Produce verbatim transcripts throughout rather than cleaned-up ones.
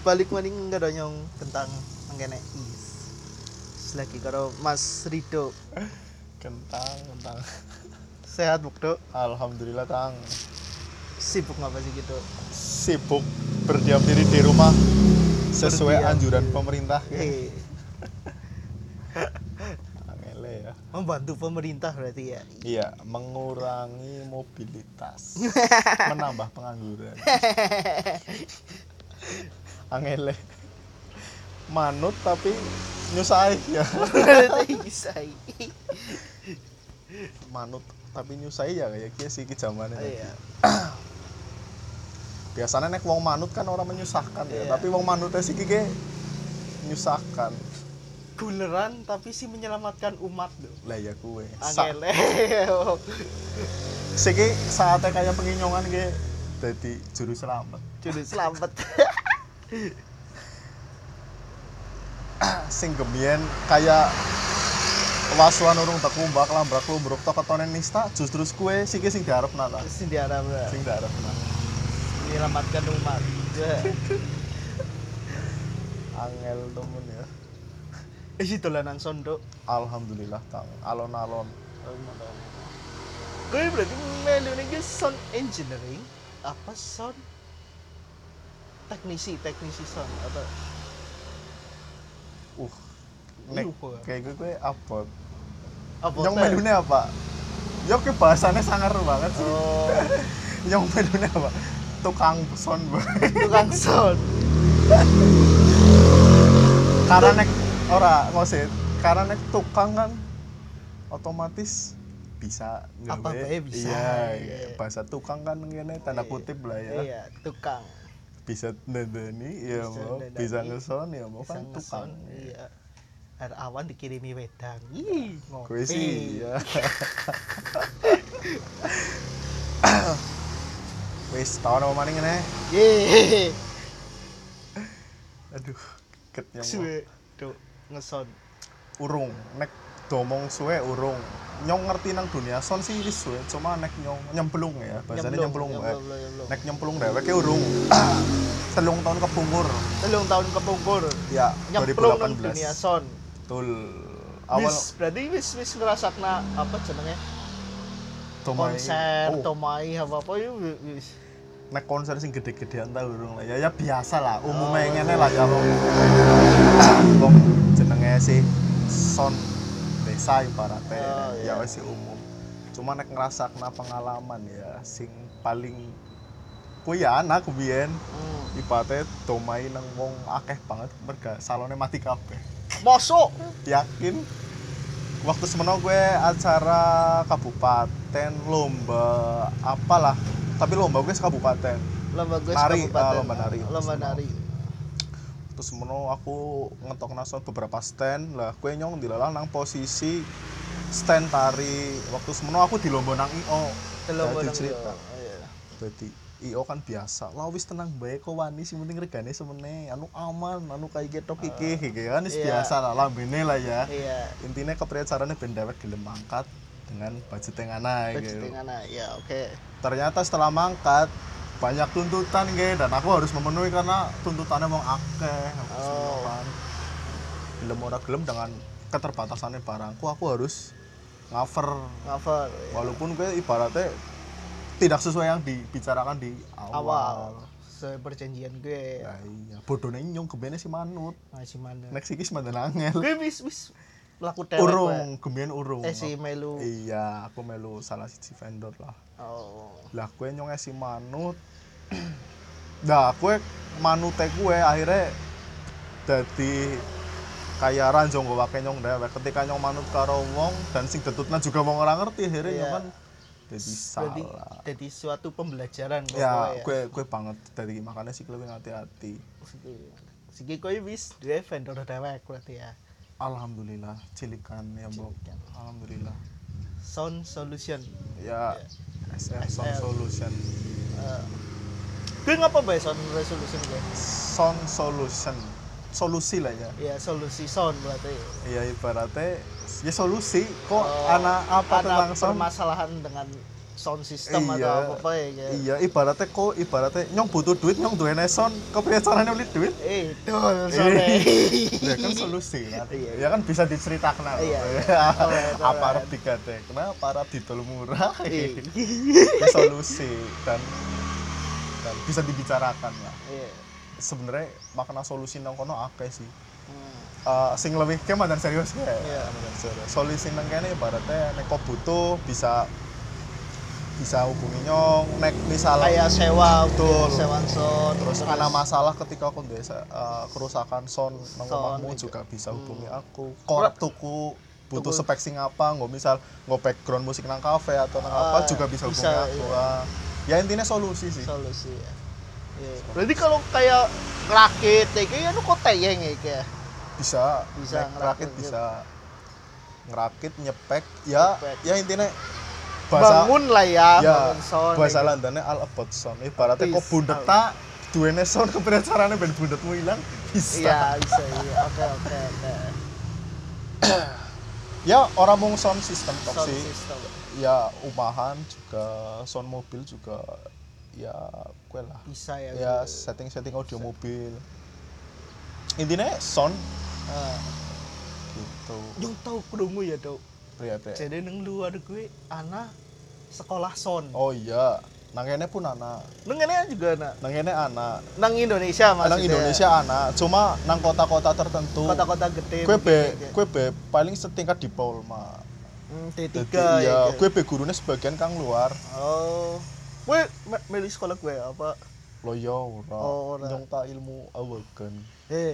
balik maning karo nyong tentang mangkene is. Lagi karo Mas Rido. Kentang, kentang. Sehat Bukdo? Alhamdulillah, Tang. Sibuk ngapa sih gitu? Sibuk berdiam diri di rumah sesuai Berdiam anjuran diri. pemerintah. Eh, Angele ya. membantu pemerintah berarti ya. Iya, mengurangi mobilitas, menambah pengangguran. Angele. Manut tapi nyusai ya. Bisa. Manut tapi nyusai ya kayak kia sih ki zamane. Iya. Biasanya nek wong manut kan orang menyusahkan ya, Iya. tapi wong manutnya sih ki nyusahkan. Guleran tapi sih menyelamatkan umat loh. Lah ya kue. Sa- Angele. Siki saatnya kayak penginyongan ki dadi juru selamat. Juru selamat. Sing gemien kayak wasuan urung tak kumbak lambrak lumbruk tok ketone nista justru kue siki sing diarep nata. Sing diarep lah. Sing diarep nata. Menyelamatkan umat. Angel temen ya. Isi dolanan sondo. Alhamdulillah Tang. Alon-alon. Gue berarti melu nih sound engineering apa sound teknisi teknisi sound atau Uh. Nek Lupa. kayak gue gue apa? apa Yang teh? melune apa? Ya ke bahasanya sangar banget sih. Oh, Yang melune apa? Tukang sound boy. tukang sound. Karena nek ora ngosit, karena nek tukang kan otomatis bisa Apa gawe. bae bisa. Iya, Iya. bahasa tukang kan ngene tanda kutip lah ya. Iya, tukang. Bisa ndendeni ya Bisa mau, ndendeni. bisa ngeson ya mau Bisa kan tukang. ngeson, iya. Air awan dikirimi wedang. Ih, ngopi. Gue sih ya. Wis tahun apa maning ngene? Ye. Aduh, ketnya Suwe tuh ngeson. urung nek domong suwe urung. Nyong ngerti nang dunia son sih wis suwe, cuma nek nyong nyemplung ya, bahasane nyemplung wae. Nek nyemplung dheweke urung. Telung tahun kepungkur. Telung tahun kepungkur. Ya, Nyemplung nang dua ribu delapan belas. dunia son. Betul. Awal Wis, berarti wis wis ngerasakna apa jenenge? domai. Konser, Oh, tomai apa apa itu wis. nek konser sing gede-gedean ta urung lah. Ya ya biasa lah, Oh, umume iya. ngene lah ya wong. Wong jenenge sih son desa ibaratnya. Oh, iya. Ya wis sih umum. Cuma nek ngrasakna pengalaman ya sing paling kuwi ya anak biyen Hmm. ibaratnya domai nang wong akeh banget merga salone mati kabeh. Mosok. Yakin waktu semeno gue acara kabupaten lomba apalah tapi lomba gue sekabupaten Lomba gue Nari, kabupaten. ah, lomba nari. Lomba Semua. nari. terus semeno aku ngetok nason beberapa stand lah gue nyong dilalang nang posisi stand tari waktu semeno aku di lomba nang I O Lomba Dadi nang cerita yo. Iya. berarti I O kan biasa lah wis tenang bae kok wani sing penting regane semene anu aman anu kayak ketok iki iki kan wis iya. biasa lah lambene lah ya Iya. intinya kepriyacarane ben dewek gelem mangkat dengan budget yang ana Budget gitu. yang ana. Ya, oke. Ternyata setelah mangkat banyak tuntutan gitu dan aku harus memenuhi karena tuntutannya wong akeh. Oh. Kan. Gelem ora gelem dengan keterbatasannya barangku aku harus cover Cover. Ya. walaupun gue ibaratnya tidak sesuai yang dibicarakan di awal. Awal. Sesuai perjanjian gue. Ya iya, bodohnya nyong kebene si manut. Masih mana? Nek sikis mandan angel. Gue wis wis melaku dewek. Urung, gemien urung. Eh si melu. Iya, aku melu salah siji vendor lah. Oh. Lah kue nyong si manut. Nah, kue manute kue akhirnya dadi kayak ranjong gue pakai nyong dewek. Ketika nyong manut karo wong dan sing detutna juga wong ora ngerti akhirnya Iya. nyong kan jadi Jadi salah. jadi suatu pembelajaran kok Ya, kowe kue kue banget dari makanya sih lebih hati-hati. Siki kowe wis duwe vendor dewek berarti ya. Alhamdulillah, cilikan ya, Bro. Cilikan. Alhamdulillah. Sound Solution. Ya, S L Sound S L. Solution. Uh, gue ngapa bae sound resolution gue? Sound Solution. Solusi lah ya. Ya solusi sound berarti. Iya ibaratnya ya solusi kok Oh, anak apa ada tentang sound permasalahan dengan sound system Iya. atau apa ya kayak. Iya, ibaratnya kok ibaratnya nyong butuh duit, nyong duwe sound, kepriye carane beli duit? Eh, dol sore. Ya kan solusi kan. Iya, Ya kan bisa diceritakan lah. Iya, iya. Apa arep digadek? Kenapa arep didol murah? Eh. Ya solusi dan dan bisa dibicarakan lah. Iya. Sebenarnya makna solusi nang kono akeh sih. Hmm. Uh, sing lebih ke mandan serius ya. Iya. Mandan serius. Solusi nang kene ibaratnya nek kok butuh bisa bisa hubungi nyong nek misal Kayak sewa, betul. sewa sound. Terus ada masalah ketika aku desa uh, kerusakan sound nang Sound, omahmu iya. juga bisa hubungi Hmm. aku. Korek tuku butuh Tuku. spek sing apa, nggak misal nggak background musik nang kafe atau nang Ah, apa juga bisa hubungi bisa, aku. iya. Ah, ya intinya solusi sih. Solusi ya. Iya. Berarti kalau kayak ngerakit kayak gitu nu kok teyeng ya kayak. Bisa, Bisa nek ngerakit, ngerakit bisa ngerakit nyepek ya Nyepek. ya intinya bahasa Bangun lah ya, ya bangun sound. bahasa kayak gitu. Londonnya all about sound ibaratnya kok Is, bundet all. tak duwene sound kepriye carane ben bundetmu ilang bisa. Iya, bisa iya. Oke, oke, oke. Ya orang mau sound system tok Sound sih. system. Ya umahan juga sound mobil juga ya kue lah. Bisa ya. Ya gitu. setting-setting audio mobil. Intinya sound Ah. gitu. Yang tahu krungu ya, Dok. Pria pria. Jadi nang luar gue ana sekolah sound. Oh iya, nang kene pun anak. Nang ngene juga ana. Nang kene anak. Nang Indonesia maksudnya. Nang Indonesia anak. Cuma nang kota-kota tertentu. Kota-kota gede. Kue mungkin be, kayak- kue be paling setingkat di Polma. Hmm, T Jadi tiga iya, ya. kue be gurunya sebagian kang luar. Oh. Gue me- milih sekolah gue apa? Loyo ora. Oh, ora. Nyong ta ilmu awaken. Eh,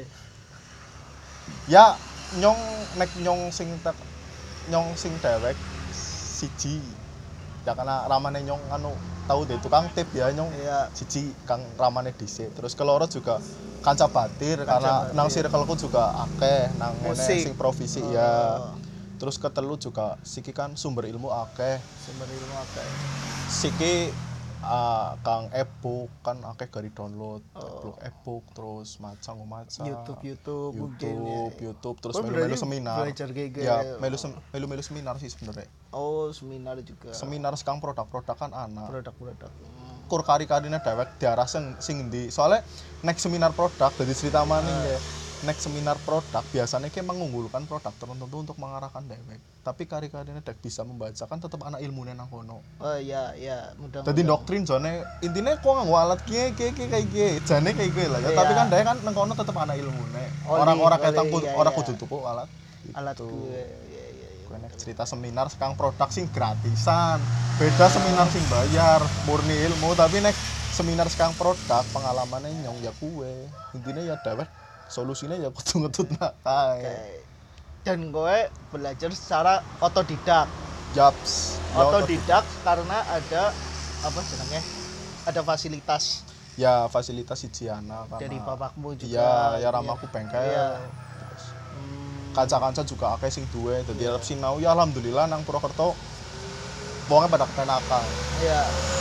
Ya nyong nek nyong sing tek nyong sing dewek siji. Ya karena ramane nyong anu tahu deh tukang tip ya nyong iya. siji kang ramane dhisik. Terus keloro juga kanca batir Kanca karena batir. nang circleku juga akeh nang ngene Musik. sing provisi Oh, ya. Terus ketelu juga siki kan sumber ilmu akeh. Sumber ilmu apa? Siki ah, kang ebook kan akeh gari download, Oh. blog ebook terus macam macam YouTube, YouTube, mungkin YouTube, ya. YouTube terus Oh, melu-melu berarti seminar. belajar kayak gitu. Ya, melu sem- melu-melu seminar sih sebenarnya. Oh, seminar juga. Seminar sekang produk-produk kan anak. Produk-produk. Hmm. Kur kari-karine dewek diarah sing sing endi. Soalnya nek seminar produk dadi cerita maning Ah. ya. Nek seminar produk biasanya kayak mengunggulkan produk tertentu untuk mengarahkan dewek. Tapi kari-karine dek bisa membacakan tetap anak ilmunya nang kono. Oh iya, iya, mudah. Jadi doktrin jane intine kok nganggo alat kiye kiye kiye kayak kiye. Jane kayak gue lah ya. Iya. Tapi kan dhek kan nang kono tetep ana ilmune. Oli, Orang-orang oli, ketang pun iya, ora iya. kudu tuku alat. Alat Gitu. gue. Iya, iya, iya. Gue nek cerita seminar sekarang produk sing gratisan. Beda seminar sing bayar, murni ilmu. Tapi nek seminar sekarang produk pengalamannya nyong ya kue. Intinya ya dewek solusinya ya kudu ngetut nak kae. Oke. Dan gue belajar secara otodidak. Japs. Ya, Otodidak karena ada apa jenenge? Ada fasilitas ya fasilitas siji ana karena dari bapakmu juga. Iya, ya Iya. ramaku bengkel. Iya. Terus Hmm. kanca-kanca juga akeh sing duwe dadi Iya. arep sinau ya alhamdulillah nang Purwokerto wonge pada kepenakan. Iya.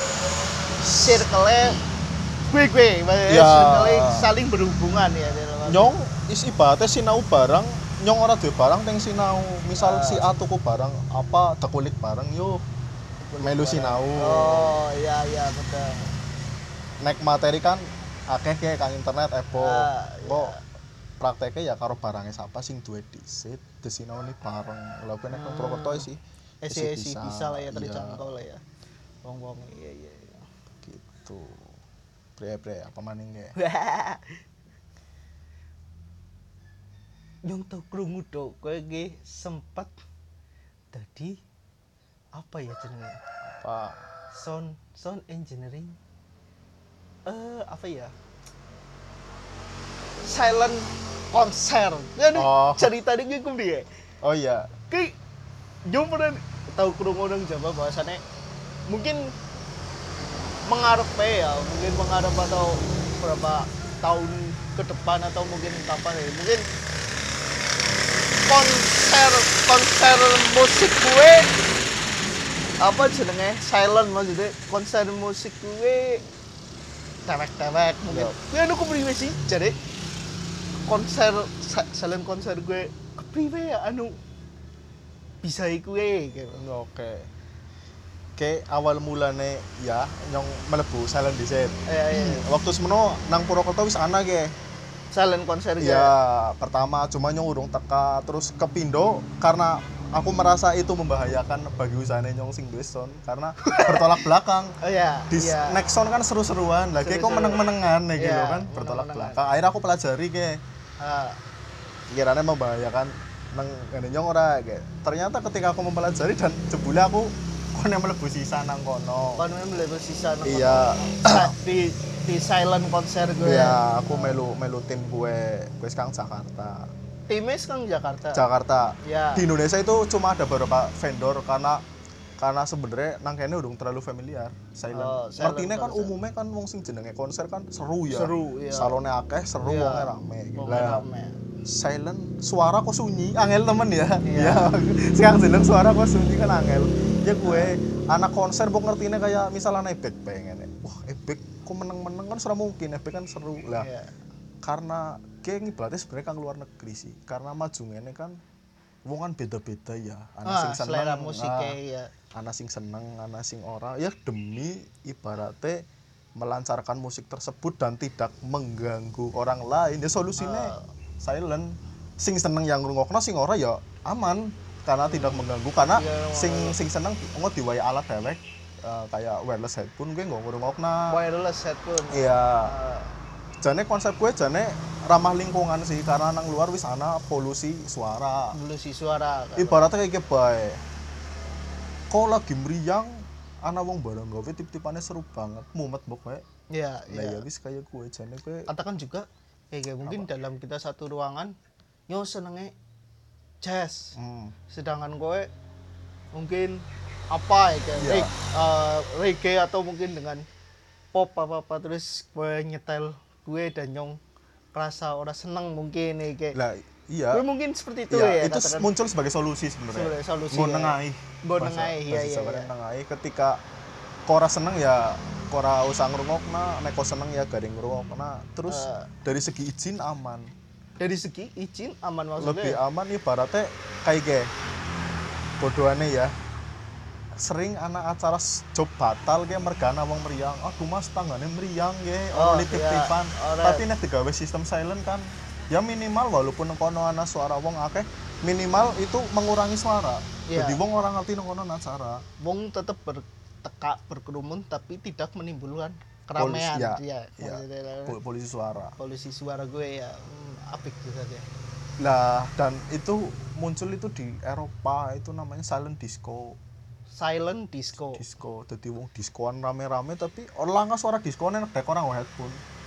Circle gue gue, Iya. circle saling berhubungan ya. Nyong is ibaratnya sinau barang nyong ora duwe barang teng sinau misal Ah. si A tuku barang apa dekulik barang yuk melu sinau. Oh iya iya betul. Nek materi kan akeh kayak kang internet epo Ah, kok iya. prakteknya ya karo barangnya siapa sing duwe disit desinau ini bareng lha nek nang Hmm. Purwokerto sih Esi esi bisa lah ya iya, terjangkau lah ya. Wong-wong iya iya. iya. gitu. Bre-bre apa maning ya? Nyong tau krungu dok, kowe nggih sempat dadi apa ya jenenge? Pak Sound sound engineering. Eh apa ya? Silent konser. Jadi Oh. cerita ini gue dia. oh iya Kayak nyong pernah tahu krungu nang Jawa bahwasannya mungkin mengharap ya, mungkin mengharap atau berapa tahun ke depan atau mungkin kapan ya, mungkin konser konser musik gue apa jenenge silent maksudnya konser musik gue tewek-tewek mungkin ya anu kepriwe sih jadi konser sa- silent konser gue kepriwe ya anu bisa gue gitu. oke ke awal mulane ya nyong mlebu silent dhisik. Iya, iya. Waktu semono nang Purwokerto wis ana ge. Silent konser Ya, ya. pertama cuma nyong urung teka terus kepindo karena aku merasa itu membahayakan bagi usahane nyong sing duwe sound karena bertolak belakang. Oh iya. Di Iya. next sound kan seru-seruan, lagi kok Seru-seruan. meneng-menengan ya gitu Iya, kan, bertolak meneng-menengan. belakang. Akhirnya aku pelajari ke Ah, kiranya membahayakan nang ngene nyong ora kayak. Ternyata ketika aku mempelajari dan jebule aku kono mlebu sisa nang kono. kon memang lebih sisa nang Iya. Sa- di di silent konser gue. Iya, aku melu melu tim gue, gue sekarang Jakarta. Timis kan Jakarta. Jakarta. Ya. Di Indonesia itu cuma ada beberapa vendor karena karena sebenarnya nang kene udah terlalu familiar. Silent. Oh, silent Ngertine kan konser. umumnya kan wong sing jenenge konser kan seru ya. Seru, iya. Salone akeh, seru Iya. wonge rame. Wonge Lah, rame. silent suara kok sunyi, angel temen ya. Iya. Ya, sekarang jeneng suara kok sunyi kan angel. Ya gue anak konser kok ngertine kayak misalnya ebek pengen. Wah, ebek kok meneng-meneng kan sudah mungkin, ebek kan seru. Lah, Iya. karena kayak ngibaratnya sebenarnya kan luar negeri sih. Karena maju ngene kan wong kan beda-beda ya. Ana Ah, sing seneng, selera musiknya ah, ya. ana sing seneng, ana sing ora. Ya demi ibaratnya melancarkan musik tersebut dan tidak mengganggu orang lain. Ya solusinya Ah. silent. Sing seneng yang ngrungokno sing ora ya aman karena tidak mengganggu karena Iya, sing sing seneng engko diwae alat dewek eh, kayak wireless headphone gue nggak ngrungokna. Wireless headphone. Iya. Ah, Jane konsep gue jane ramah lingkungan sih karena nang luar wis ana polusi suara. polusi suara. kan. Ibaratnya kayak bae. Kok lagi meriang ana wong bareng gawe tip-tipane seru banget, mumet mbok wae. Iya, Lah ya iya. wis kayak gue jane gue Katakan juga kayak kayak mungkin dalam kita satu ruangan nyo senenge jazz. hmm. Sedangkan gue mungkin apa ya kayak Iya. reg- eh, reggae atau mungkin dengan pop apa apa terus gue nyetel gue dan nyong rasa orang seneng mungkin ya kayak Lah iya. gue mungkin seperti itu Iya, ya itu katakan. muncul sebagai solusi sebenarnya. Sebagai solusi, Nggo ya. nengahi. Nggo Bahasa- nengahi, iya, bahasa iya, Jawanya iya. nengahi ketika kok ora seneng ya kok ora usah ngrungokna, nek kok seneng ya garing ngrungokna. Terus Eh. dari segi izin aman. Dari segi izin aman maksudnya. Lebih aman ibaratnya kayak ge bodohane ya. Sering anak acara s- job batal ge mergana wong meriang. Aduh Mas tanggane meriang ge, Oh, ora nitip-tipan. iya, ora. Tapi nek digawe sistem silent kan ya minimal walaupun nang kono ana suara wong akeh, minimal itu mengurangi suara. Iya. Jadi wong ora ngerti nang kono ana acara. Wong tetap bertekak berkerumun tapi tidak menimbulkan keramaian. ya, Iya, ya. maksudnya Pol- Polisi suara. polusi suara gue ya hmm, apik gitu saja. Lah dan itu muncul itu di Eropa itu namanya silent disco. Silent disco. Disco, jadi wong diskoan rame-rame tapi orang nggak suara diskoan enak dek orang headphone.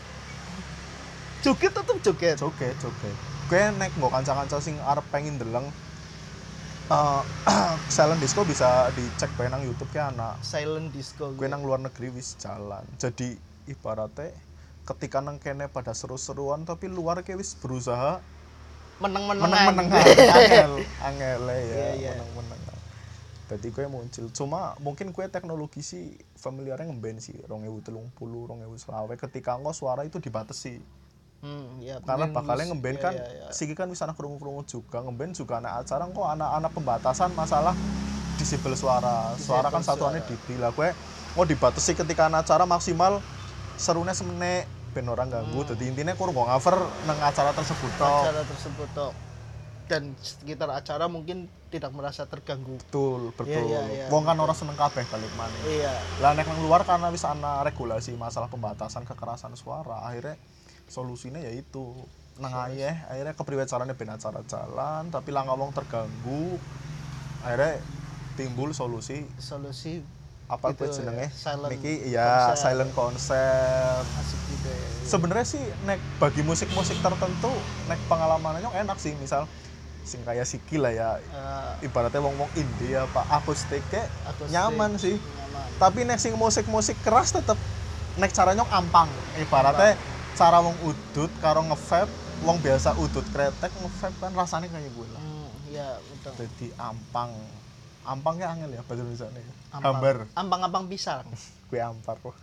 Joget tetap joget. Joget, joget. Gue nek nggo kanca-kanca sing arep pengen deleng eh silent disco bisa dicek bae nang YouTube ke anak. Silent disco. Gue nang luar negeri wis jalan. Jadi ibaratnya ketika nang kene pada seru-seruan tapi luar ke wis berusaha meneng-menengan. meneng-menengan angel, angel ya, Iya, iya. meneng-menengan. Jadi gue muncul, cuma mungkin gue teknologi sih familiarnya ngemben sih dua ribu tiga puluh, dua ribu selawe ketika engko suara itu dibatasi. Hmm, ya, Karena mungkin bakalnya mus- ngemben iya, kan, iya, iya. siki kan bisa anak krungu-krungu juga, ngemben juga anak acara kok anak-anak pembatasan masalah disable suara. Suara kan Disable satuannya suara. didi lah gue mau dibatasi ketika anak acara maksimal serunya semenit ben orang ganggu. Hmm. Jadi intinya kurang nggak cover nang acara tersebut toh. acara tersebut toh. Dan sekitar acara mungkin tidak merasa terganggu. Betul, betul. Iya, iya, iya. Wong kan orang seneng kabeh balik maneh. Iya. Lah nek nang luar karena wis ana regulasi masalah pembatasan kekerasan suara, akhirnya solusinya yaitu nang ayeh akhirnya kepriwe carane ben acara jalan tapi lah wong terganggu. Akhirnya timbul solusi Solusi apa itu kuwi jenenge? ya, silent Niki ya konser. silent konser. asik gitu ya. Sebenarnya sih nek bagi musik-musik tertentu nek pengalamannya enak sih, misal sing kayak Siki lah ya. Eh, Ibaratnya wong-wong indie apa akustik kayak akustik, nyaman sih. nyaman. Tapi nek sing musik-musik keras tetep nek caranya ampang. Ibaratnya cara wong udut karo nge-vape, wong biasa udut kretek nge-vape kan rasanya kayak gue lah. Hmm, ya betul. Jadi ampang. Ampangnya angel ya bahasa Indonesia nih. Ampang. Hambar. Ampang-ampang pisang. Gue ampar kok.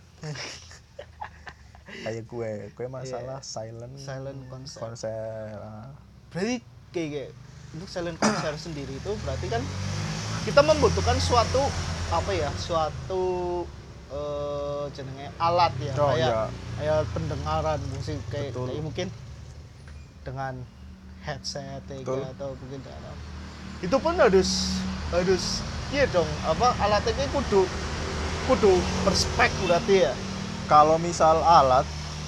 Kayak gue, gue masalah silent Silent konser. konser. ah. Berarti kayak, kayak untuk silent konser sendiri itu berarti kan kita membutuhkan suatu apa ya suatu eh jenenge alat ya Oh, kayak iya. kayak pendengaran musik kayak, Betul. kayak mungkin dengan headset kayak Betul. atau mungkin dengan itu pun harus harus iya dong apa alatnya kudu kudu berspek berarti ya Kalau misal alat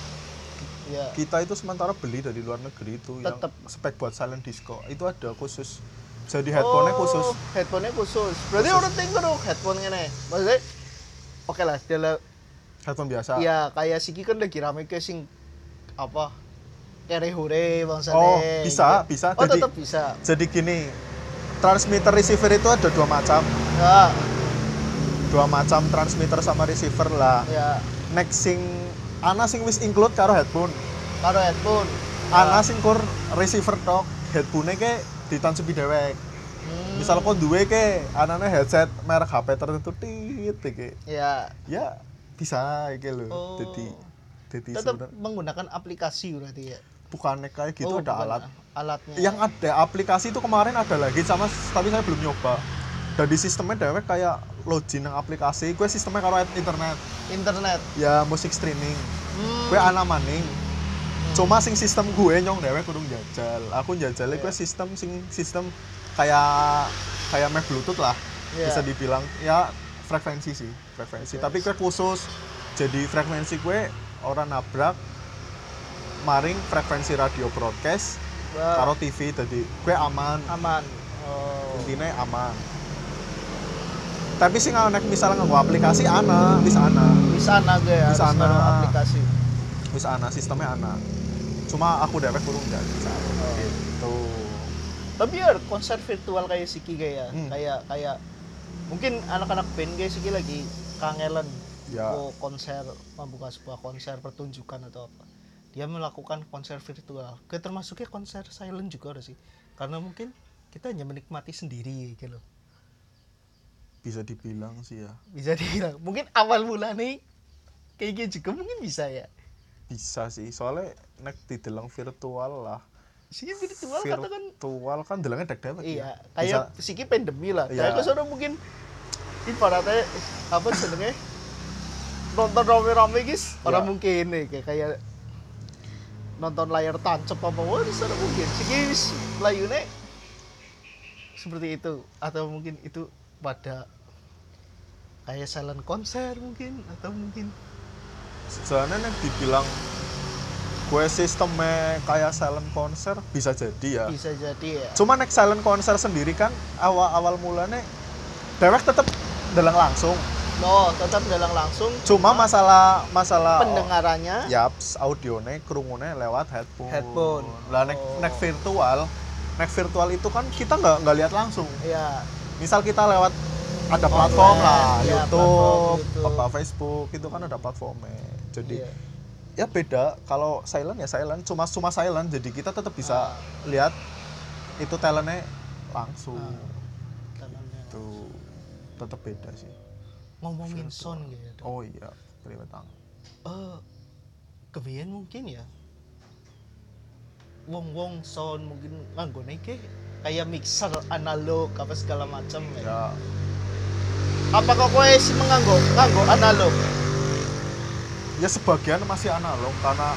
ya kita itu sementara beli dari luar negeri itu Tetep. yang spek buat silent disco itu ada khusus. Jadi headphone-nya khusus. headphone-nya khusus berarti Khusus. orang tinggal dong headphone ini maksudnya oke lah dia Headphone biasa. ya kayak Siki kan lagi rame ke sing apa kere hore bangsane Oh, bisa, gitu. bisa. Oh Jadi- tetap bisa Jadi gini, transmitter receiver itu ada dua macam. ya Dua macam transmitter sama receiver lah. ya Next sing ana sing wis include karo headphone. karo headphone Ana sing kur receiver tok, headphone-nya ke ditancepi dewek. Hmm, Misal kok duwe ke anane headset merek H P tertentu tit iki. ya Ya bisa iki lho. Oh. Jadi jadi tetap sebenarnya menggunakan aplikasi berarti ya bukannya kayak gitu Oh, ada bukan alat. alatnya Yang ada aplikasi itu kemarin ada lagi sama tapi saya belum nyoba. Dan di sistemnya dewek kayak login nang aplikasi, gue sistemnya karo internet. internet Ya musik streaming. hmm. Gue ana maning. Cuma sing sistem gue nyong dewek kudu jajal. Aku jajalnya gue Iya. sistem sing sistem kayak kayak Mac Bluetooth lah. Iya. Bisa dibilang ya frekuensi sih, frekuensi. Frekuensi. Tapi gue khusus. Jadi frekuensi gue orang nabrak maring frekuensi radio broadcast Wah, karo T V jadi gue aman. aman oh. Intinya aman. Tapi sih nggak nek misalnya nggak aplikasi ana, bisa ana, bisa ana ge ya Bisa harus ana. karo aplikasi bisa ana sistemnya ana. Cuma aku dewek kurang nggak bisa. Oh. Gitu. tapi ya konser virtual kayak Siki kayak Hmm. kayak kayak mungkin anak-anak band kayak Siki lagi kangen Ya. mau konser membuka sebuah konser pertunjukan atau apa dia melakukan konser virtual kayak termasuknya konser silent juga ada sih karena mungkin kita hanya menikmati sendiri gitu loh Bisa dibilang sih ya. bisa dibilang mungkin awal mula nih kayak gitu juga mungkin bisa ya Bisa sih. Soalnya nek didelang virtual lah. sih virtual katakan Virtual kan delangnya deg-deg iya ya. kayak Bisa- Siki pandemi lah Iya. kayak kesana mungkin ibaratnya apa senengnya nonton rame-rame guys orang Ya. mungkin nih kayak kayak nonton layar tancap apa wah di sana mungkin Siki wis layune seperti itu atau mungkin itu pada kayak silent konser mungkin atau mungkin Soalnya nek dibilang gue sistemnya kayak silent konser bisa jadi ya. bisa jadi ya Cuma nek silent konser sendiri kan awal-awal mulanya dewek tetep delang langsung. no tetap dalang langsung Cuma masalah masalah pendengarannya yaps audionya kerungune lewat headphone. Headphone. Lah nek Oh. nek virtual, nek virtual itu kan kita nggak nggak lihat langsung. ya Misal kita lewat ada platform Online, lah, ya, YouTube, platform YouTube. apa Facebook itu kan ada platformnya. Jadi iya. ya beda. Kalau silent ya silent, cuma cuma silent. Jadi kita tetap bisa Ah. lihat itu talentnya langsung. Ah. Tangannya. Tuh tetap beda sih. ngomongin Virtual. sound gitu Oh iya, kelihatan. eh kebiyen mungkin ya wong-wong sound mungkin nganggone ke kayak mixer analog apa segala macam ya. Ya Apakah kowe sih menganggo nganggo analog? ya sebagian masih analog karena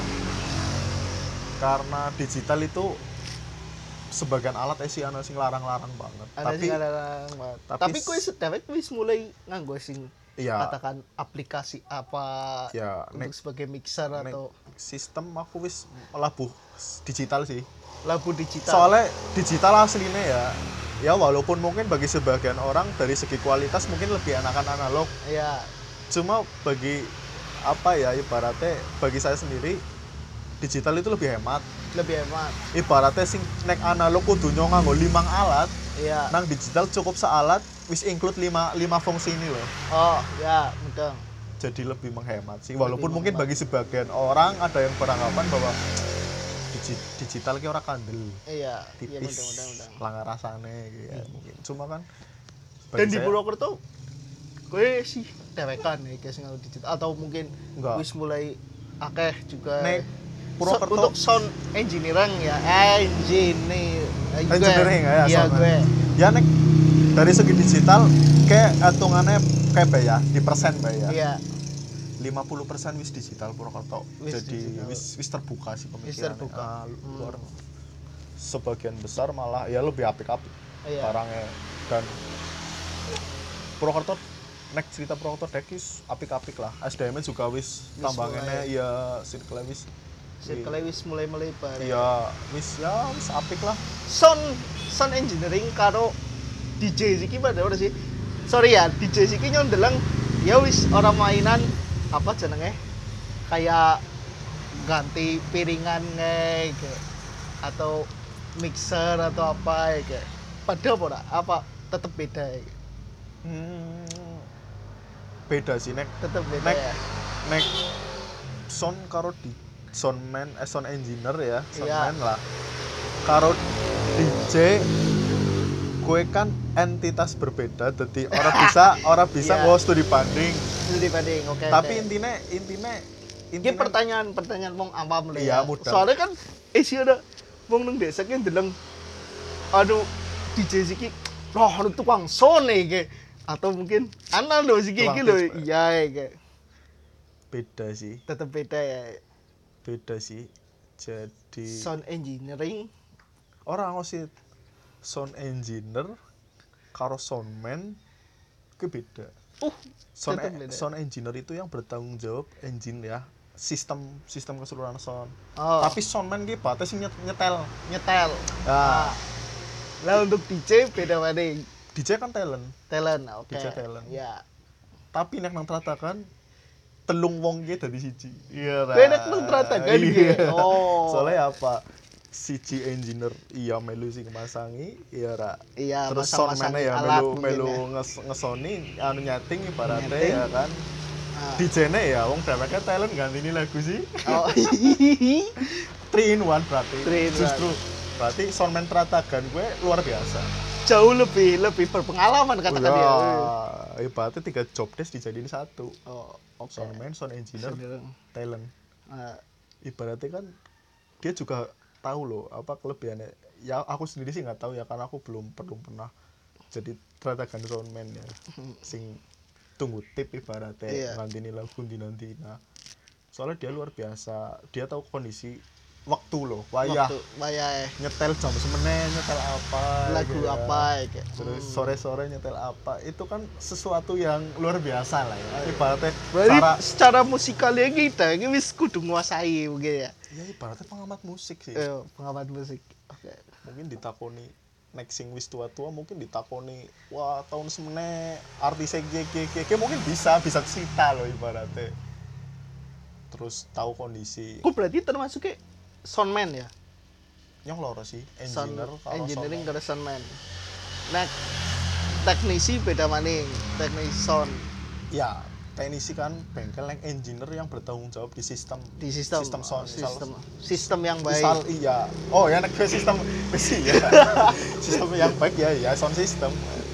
karena digital itu sebagian alat isi ana sing larang-larang banget. Ada tapi sing larang banget. tapi Tapi s- kowe sedewek wis mulai nganggo sing iya katakan aplikasi apa ya untuk nek, sebagai mixer nek atau sistem aku wis labuh digital sih. lagu digital. Soalnya digital aslinya ya ya walaupun mungkin bagi sebagian orang dari segi kualitas mungkin lebih enakan analog. ya Cuma bagi apa ya ibaratnya bagi saya sendiri digital itu lebih hemat. lebih hemat. Ibaratnya sing nek analog kudu nganggo limang alat, Iya. nang digital cukup sealat wis include lima lima fungsi ini loh. Oh, ya, betul. Jadi lebih menghemat sih. Walaupun Lebih mungkin menghemat. bagi sebagian orang ada yang beranggapan bahwa digi- digital ki ora kandel, Iya, iya tipis, mudah-mudahan. langgar rasane gitu ya mungkin. Cuma kan Dan bagi di saya- Purwokerto kowe sih dewekan ya guys nganggo digital atau mungkin Enggak. wis mulai akeh juga Nek So- Purwokerto untuk sound engineering ya engineer eh, gue. Engineering, ya, iya sound. gue ya nek dari segi digital kayak hitungannya kayak Mbak ya di persen Mbak ya Iya, lima puluh persen wis digital Purwokerto Wis jadi digital. wis wis terbuka sih wis pemikirannya. terbuka. Ah, Hmm. luar sebagian besar malah ya lebih apik-apik Iya. barangnya dan Purwokerto nek cerita Purwokerto dek wis apik-apik lah S D M-nya juga wis Wis tambangannya mulai. ya circle wis Circle wis mulai melebar. ya wis ya wis apik lah Sound sound engineering karo D J iki pada ora sih? Sorry ya, D J iki nyondeleng ya wis orang mainan apa jenenge? Kayak ganti piringan kayak atau mixer atau apa kayak. Pada apa ora? Apa tetep beda ya? hmm, beda sih nek Tetep beda Nek- ya. nek sound karo di soundman eh sound engineer ya soundman lah karo D J gue kan entitas berbeda jadi orang bisa orang bisa Iya. nggawa studi banding Itu dibanding, oke. tapi oke. intinya intinya Ini intinya pertanyaan-pertanyaan mong awam lho Iya, ya. mudah. Soalnya kan isi ada wong nang desa ki ndeleng aduh D J iki loh anu tukang sone iki atau mungkin ana lho iki Tukang iki lho tes, Pak. iya iki. beda sih Tetep beda ya. beda sih jadi Sound engineering orang sih sound engineer karo soundman itu beda uh sound, tetep beda. sound engineer itu yang bertanggung jawab engine ya sistem sistem keseluruhan sound Oh, tapi soundman ki batas sing nyet- nyetel nyetel. nah Lah untuk D J beda maning. D J kan talent Talent, oke. D J talent. Ya. tapi nek nang tratakan telung wong ki dadi siji iya ra. Beda nang tratakan ki. Iya. Oh. soalnya apa siji engineer iya melu sing masangi iya ra Iya, terus masang-masang soundman ya alat melu mungkin melu ya. nges ngesoni anu nyating ibaratnya Nyeting. ya kan Ah. D J-ne ya wong dheweke talent gantini lagu sih Oh. three in one berarti Three in one. justru berarti soundman Tratagan gue luar biasa Jauh lebih lebih berpengalaman katakan dia. ya ibaratnya tiga job desk dijadiin satu Oh, oke. soundman sound engineer Engineer. talent Ah, ibaratnya kan dia juga tahu loh apa kelebihannya ya aku sendiri sih nggak tahu ya karena aku belum belum pernah jadi Tratagan soundman ya sing tunggu tip ibaratnya Iya. nanti nih lagu nanti nanti nah soalnya dia luar biasa dia tahu kondisi waktu loh wayah waktu bayar nyetel jam semene nyetel apa lagu gitu ya. apa kayak. terus Hmm. sore sore nyetel apa itu kan sesuatu yang luar biasa lah ya ibaratnya Berarti cara secara musikalnya kita ini wis kudu nguasai mungkin ya. ya ibaratnya pengamat musik sih Eh, pengamat musik. Oke. mungkin ditakoni next sing wis tua-tua mungkin ditakoni wah tahun semene artis G G G G mungkin bisa bisa cerita loh ibaratnya terus tahu kondisi Kok berarti termasuk kayak soundman ya? yang loro sih Sound engineer kalau engineering soundman. karo soundman. Nah, teknisi beda maning, teknisi sound ya teknisi kan bengkel yang engineer yang bertanggung jawab di sistem di sistem sistem sound sistem misal- sistem yang baik. misal iya oh ya nek gue sistem besi ya sistem yang baik ya ya sound system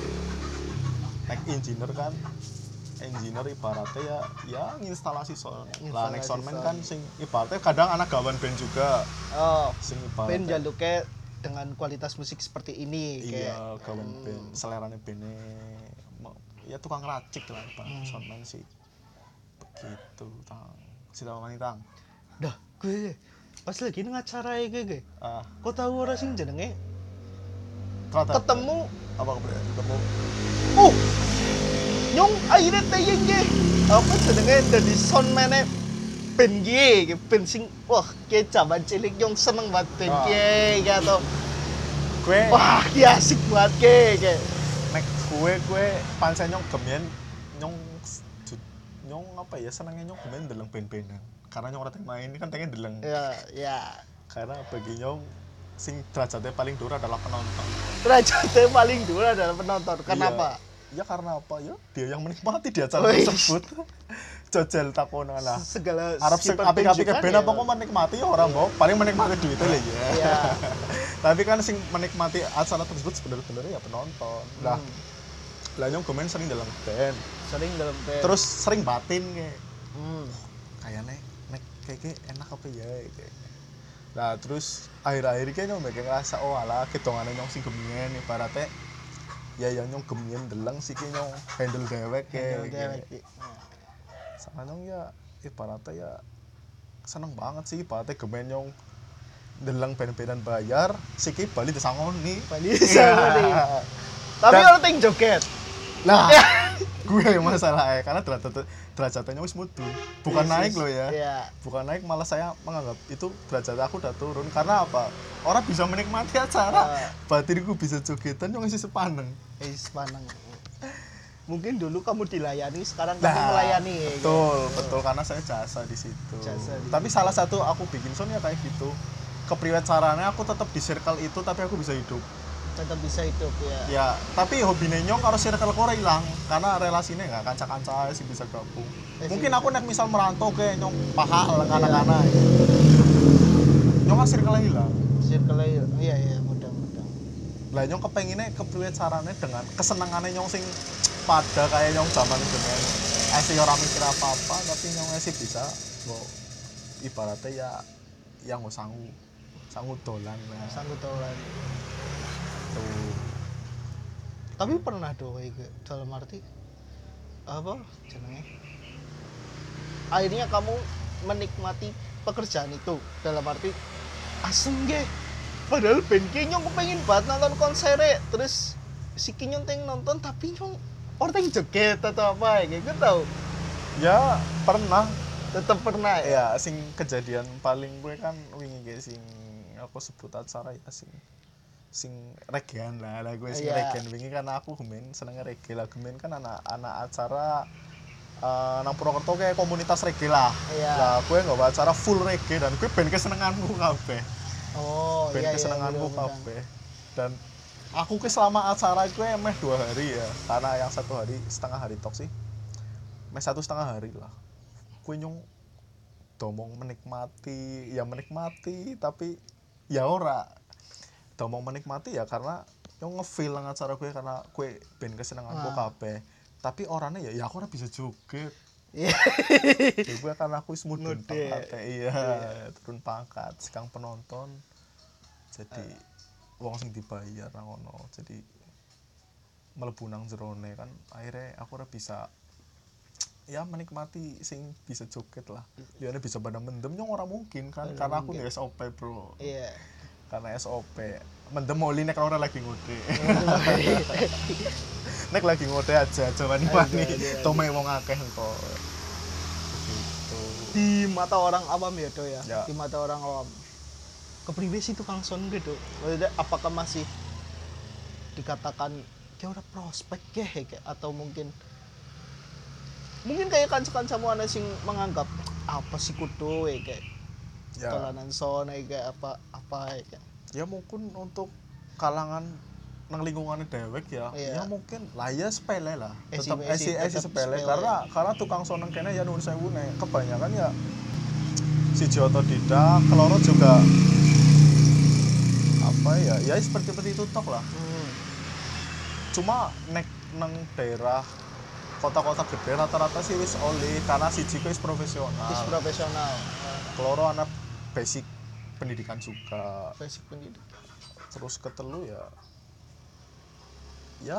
nek engineer kan engineer ibaratnya ya ya instalasi sound lah nek Instalasi soundman sound. kan sing ibaratnya kadang anak gawan band juga Oh, sing band ibaratnya jaluknya dengan kualitas musik seperti ini iya kayak. gawan Hmm. band selerane bandnya mau- ya tukang racik lah bang Hmm. soundman sih begitu tang sita wani tang Dah, gue pas lagi nang acara iki gue. ah Kok tahu ora sing jenenge ternyata ketemu apa kemudian ketemu uh nyong akhirnya tayang ge apa jenenge dari soundman band gie band sing wah kayak zaman cilik nyong seneng banget band Ah. gie gitu gue wah ki asik banget ge kayak nek gue gue pancen nyong gemien nyong ju- nyong apa ya senengnya nyong gemien deleng band-bandan karena nyong ora teng main kan pengen deleng ya ya karena bagi nyong sing derajatnya paling dhuwur adalah penonton derajatnya paling dulu adalah penonton kenapa ya karena apa ya dia yang menikmati di acara Wih. tersebut jajal takonan lah segala Arab sing sifat apik-apik pertunjukan ben ya. apa kok menikmati ya orang mau paling menikmati duitnya lah ya Iya. tapi kan sing menikmati acara tersebut sebenarnya ya penonton lah Hmm. lah nyong gemen sering dalam band sering dalam band terus sering batin kayak hmm. kayaknya nek kayak enak apa ya kayak nah terus akhir-akhir kayak nyong kayak ngerasa oh alah ketongane nyong sing gemien ibaratnya ya yang nyong gemien deleng siki nyong handle dewek Handle ya dewek gitu. iki. Sama nyong ya ibaratnya ya seneng banget sih ibaratnya gemen nyong deleng ben-benan bayar siki bali disangoni Bali disangoni. Tapi Dan- orang ting joget. nah gue yang masalahnya karena derajat derajatnya wis mudun bukan Yes, naik yes. loh ya Iya. bukan naik malah saya menganggap itu derajat aku udah turun karena apa orang bisa menikmati acara Ah. batinku bisa jogetan yang isi sepaneng Wis paneng. Mungkin dulu kamu dilayani, sekarang kamu Nah, melayani ya. betul kan? betul karena saya jasa di situ Jasa di tapi situ. salah satu aku bikin sound ya kayak gitu kepriwet caranya aku tetap di circle itu tapi aku bisa hidup Tetap bisa hidup ya. ya tapi hobi nyong kalau circle kore hilang karena relasinya nggak kanca-kanca sih bisa gabung Eh, mungkin sih aku nek misal merantau ke nyong paha Iya. anak-anak nyong kan circle hilang Circle iya iya mudah-mudahan. lah nyong kepenginnya kepriwet caranya dengan kesenangannya nyong sing pada kayak nyong zaman dengan esi orang mikir apa-apa tapi nyong esi bisa kok ibaratnya ya yang nggak sanggup sanggup dolan lah Sanggup tahu lagi. tuh Tapi pernah doa ke dalam arti apa jenenge? Akhirnya kamu menikmati pekerjaan itu dalam arti asem ge. Padahal band ki nyong pengen banget nonton konser terus si ki nyong teng nonton tapi nyong orang joget atau apa ya gitu tau. ya pernah Tetap pernah ya. ya sing kejadian paling gue kan wingi ge sing aku sebut acara ya sing sing regean lah lah gue sing Iya. regean wingi karena aku gemen seneng reggae lah gemen kan anak anak acara uh, nang Purwokerto kayak komunitas reggae lah Iya. lah gue nggak acara full reggae dan gue band kesenenganku kabeh Oh band iya iya. kesenenganku mudah-mudahan. kabeh dan aku ke selama acara gue emeh dua hari ya karena yang satu hari setengah hari tok sih meh satu setengah hari lah gue nyong domong menikmati ya menikmati tapi ya ora domong menikmati ya karena nyong ngefeel nang acara gue karena gue band kesenenganku Ah. kabeh tapi orangnya ya ya aku ora bisa joget Iya. ya gue karena aku wis mudun Ngode. pangkat iya turun pangkat sekarang penonton jadi wong sing dibayar nang ngono jadi mlebu nang jerone kan akhirnya aku ora bisa ya menikmati sing bisa joget lah ya bisa pada mendem nyong ora mungkin kan Ora karena aku mungkin. di S O P bro Iya. karena S O P mendem oli nek ora lagi ngode nek lagi ngode aja aja wani-wani Aja, aja, aja. tome wong akeh kok gitu Di mata orang awam ya do ya. Ya. Di mata orang awam. Kepriwe sih tukang sound gitu. Maksudnya apakah masih dikatakan kayak udah prospek kayak atau mungkin mungkin kayak kanca-kancamu ana sing menganggap apa sih kudu ya kayak ya tolanan sound ya, kayak apa apa ya kayak. ya mungkin untuk kalangan nang lingkungannya dewek ya Iya. ya mungkin lah ya sepele lah Esi- tetap esi esi- esi tetap sepele sepele. karena karena tukang soneng kene ya nuwun sewu nek kebanyakan ya siji otodidak keloro juga apa ya ya seperti seperti itu tok lah Hmm. cuma nek nang daerah kota-kota gede rata-rata sih wis oli karena siji ku wis profesional Is profesional. keloro anak basic pendidikan juga Basic pendidikan. terus ketelu ya ya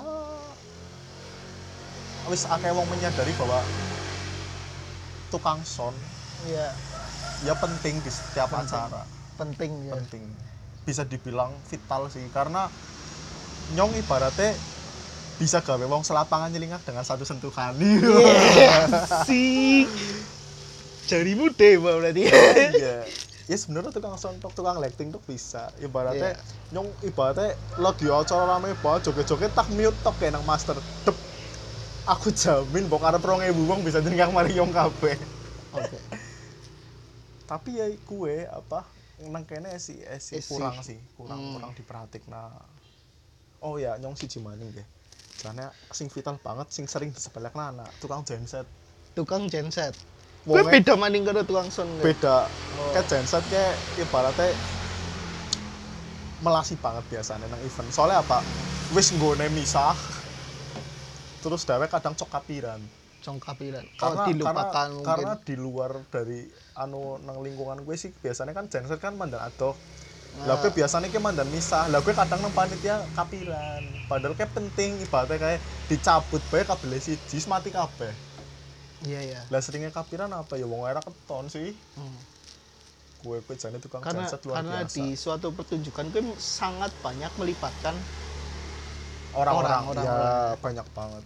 wis akeh wong menyadari bahwa tukang sound Iya, ya penting di setiap Penting. acara penting ya. penting bisa dibilang vital sih karena nyong ibaratnya bisa gawe wong selapangan nyelingak dengan satu sentuhan Iya. Sik. Jarimu dewa berarti. iya ya sebenarnya tukang sound tok, tukang lighting tuh bisa ibaratnya Iya. nyong ibaratnya lagi acara rame banget joget-joget tak mute tok kayak nang master dep aku jamin bok arep rong ewu wong bisa nyelingak mari nyong kabeh Oke. tapi ya kue apa nang kene esi esi Esi. kurang sih kurang Hmm. kurang diperhatik nah oh ya nyong siji maning nggih jane sing vital banget sing sering disepelekna anak tukang genset Tukang genset. Gue Wonge beda maning karo tukang sound. nggak? beda Oh. kayak genset kayak ibaratnya melasi banget biasanya nang event soalnya apa wis nggone misah terus dewek kadang cok kapiran Congkapiran. Oh, karena dilupakan karena, mungkin. karena di luar dari anu nang lingkungan gue sih biasanya kan genset kan mandang adoh Lah Nah. gue biasanya ki mandan misah. Lah gue kadang nang panitia kapiran. Padahal kayak penting ibaratnya kayak dicabut bae kabel siji wis mati kabeh. Iya ya. Lah seringnya kapiran apa ya wong era keton sih. Hmm. Gue gue jane tukang Karena genset luar karena biasa. di suatu pertunjukan gue sangat banyak melibatkan Orang-orang orang, ya orang-orang. banyak banget.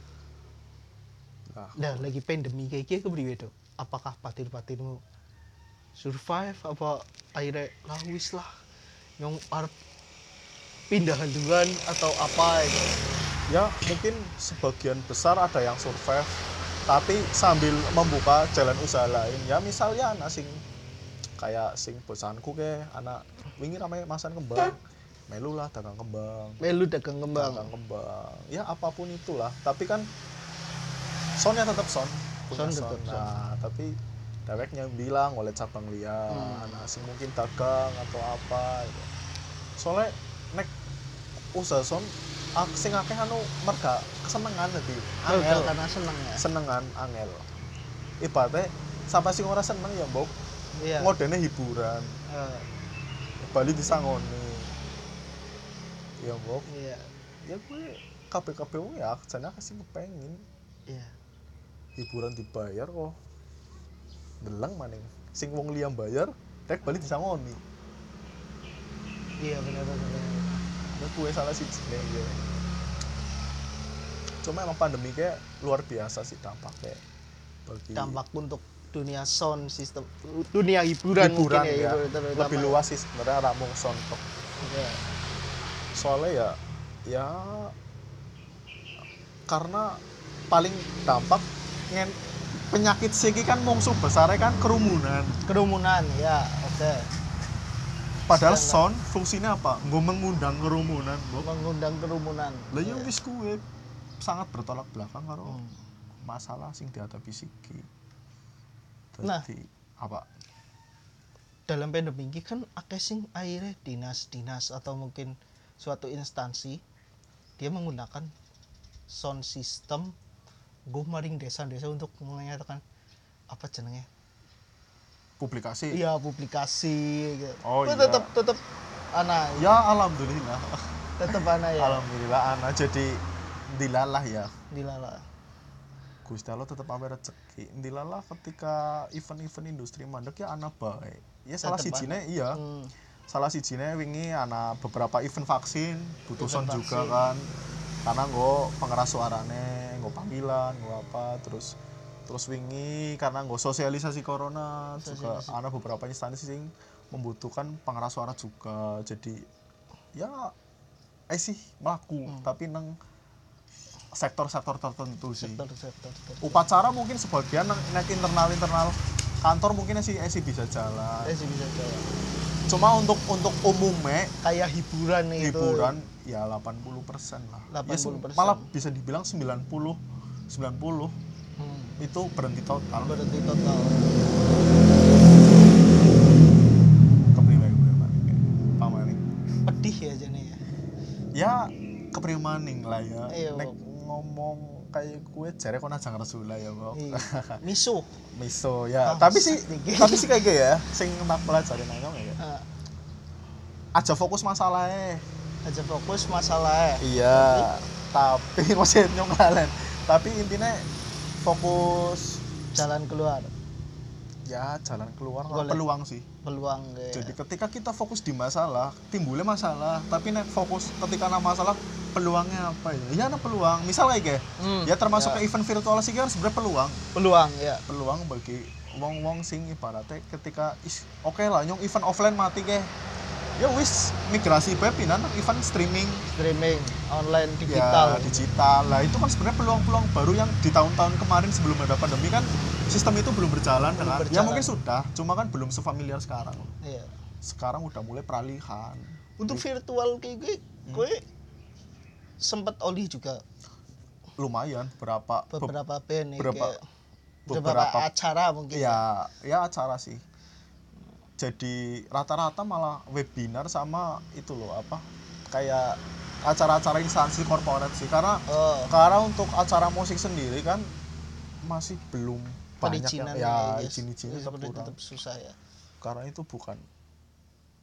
Nah, Nah, lagi pandemi kayak gini kepriwe Dok? Apakah patir-patirmu survive apa akhirnya lah wis lah yang arep pindah haluan atau apa gitu. ya mungkin sebagian besar ada yang survive tapi sambil membuka jalan usaha lain. Ya misalnya anak sing kayak sing bosanku ke anak wingi ramai masan kembang. Melu lah dagang kembang. Melu dagang kembang. Dagang kembang. Ya apapun itulah, tapi kan soundnya tetap sound. Punya Sound sound. tetap sound. Nah, tapi deweknya bilang oleh cabang liya, Hmm. nah sing mungkin dagang atau apa gitu. Soalnya nek usaha sound ak- sing akeh anu merga kesenengan dadi angel. Angel karena seneng ya. Senengan angel. Ibaratnya sampai sing ora seneng ya mbok Iya. ngodene hiburan. Eh, Bali disangoni. Ya mbok, iya. ya gue kabeh-kabeh wong ya jane kasih kepengin Iya. hiburan dibayar kok. Deleng maning. Sing wong liya bayar, rek bali disangoni. Iya benar benar. benar. Nah, gue salah sih jeneng ya. Cuma emang pandemi kayak luar biasa sih dampaknya bagi Dampak untuk dunia sound system, dunia hiburan, hiburan mungkin ya, ya. hiburan terutama. Lebih luas sih sebenarnya ramung sontok. Iya. Soalnya ya ya karena paling dampak ngen penyakit siki kan mungsuh besarnya kan kerumunan. Kerumunan ya, oke. Padahal Sedangkan- sound fungsinya apa? Gue mengundang kerumunan, Bro. Mengundang kerumunan. Lah ya Iya. wis kuwe sangat bertolak belakang karo Hmm. masalah sing dihadapi siki. Nah. Dadi apa? Dalam pandemi ini kan akeh sing akhirnya dinas-dinas atau mungkin suatu instansi dia menggunakan sound system gue maring desa-desa untuk menyatakan apa jenenge Publikasi. iya publikasi gitu. Oh, Tapi iya. tetap tetap anak Ya alhamdulillah. tetap anak ya Alhamdulillah anak jadi dilalah ya. dilala. Gusti Allah tetap ampe rezeki. Dilalah ketika event-event industri mandek ya anak baik. Ya salah Tetep sijine ana. iya. Hmm. Salah sijine wingi ana beberapa event vaksin butuh Event sound juga vaksin. kan. Karena nggo pengeras suarane, nggo panggilan, nggo apa terus terus wingi karena nggo sosialisasi corona juga Sosialisasi. ana beberapa instansi sing membutuhkan pengeras suara juga. Jadi ya eh sih melaku Hmm. tapi nang sektor-sektor tertentu sih. sektor-sektor Upacara mungkin sebagian nang nek internal-internal kantor mungkin sih sih bisa jalan. eh sih bisa jawab Cuma untuk untuk umumnya kayak hiburan gitu hiburan ya delapan puluh persen lah. Ya, delapan puluh persen. malah bisa dibilang sembilan puluh sembilan puluh hmm. itu berhenti total. berhenti total. Kepriwe gue maning. Pamaning. Pedih ya jane ya. Ya kepriwe maning lah ya. Iya, Nek Bok. ngomong kayak gue jare kon ajang resula ya, Bok. Iya. Misuh. Miso ya, Ah, tapi sih sedikit. tapi sih kayak gitu ya, sing tak pelajari nang ya. Nah, Aja fokus masalahnya. aja fokus masalah Iya, tapi masih nyong kalian. Tapi intinya fokus jalan keluar ya jalan keluar Golek. peluang sih. peluang kayak Jadi ketika kita fokus di masalah, timbulnya masalah. Tapi nek fokus ketika ada masalah, peluangnya apa ya? Ya ada peluang. Misal kayak Hmm, ya termasuk ya. ke event virtual sih kan sebenarnya peluang. peluang ya Peluang bagi wong-wong sing ibaratnya ketika is oke lah nyong event offline mati ke. Ya wis migrasi bae pindah nang event streaming streaming online digital ya, digital lah itu kan sebenarnya peluang-peluang baru yang di tahun-tahun kemarin sebelum ada pandemi kan sistem itu belum berjalan Belum dengan ya berjalan. mungkin sudah cuma kan belum sefamiliar sekarang iya. sekarang udah mulai peralihan Untuk Jadi, virtual kayak gue Hmm. gue sempet oli juga lumayan berapa be- beberapa band nih, berapa- kayak beberapa, beberapa- acara mungkin ya ya acara sih jadi rata-rata malah webinar sama itu loh apa kayak acara-acara instansi korporat sih karena oh karena untuk acara musik sendiri kan masih belum banyak yang perizinan ya guys. izin-izinnya Iya, tetap sebenarnya kurang tetap susah ya karena itu bukan hmm.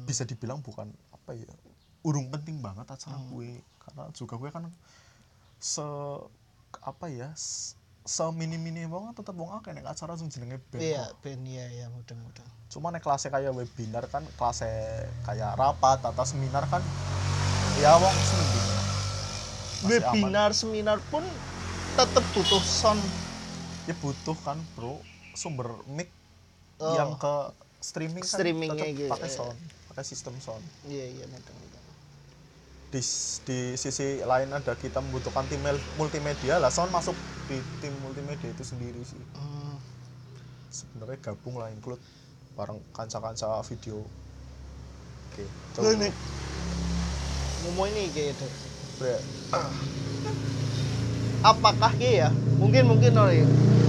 bisa dibilang bukan apa ya, urung penting banget acara Hmm. gue, karena juga gue kan se apa ya s- semini-mini wong tetep wong akeh nek acara sing jenenge band Iya, kok. ben iya ya mudeng-mudeng. Cuma nek kelasnya kayak webinar kan, kelasnya kayak rapat atau seminar kan ya wong semending lah. Masih aman. Webinar, seminar pun tetap butuh sound. Ya butuh kan bro sumber mic Oh. yang ke streaming kan Streamingnya tetap gitu, pakai iya. sound, pakai sistem sound. Iya, iya mudeng-mudeng. Di, di sisi lain ada kita membutuhkan tim mel- multimedia lah, sound masuk di tim multimedia itu sendiri sih. Hmm. Sebenarnya gabung lah, include bareng kanca-kanca video. Oke, Gue nih ngomong ini gitu. Bre, Apakah dia ya? Mungkin mungkin oleh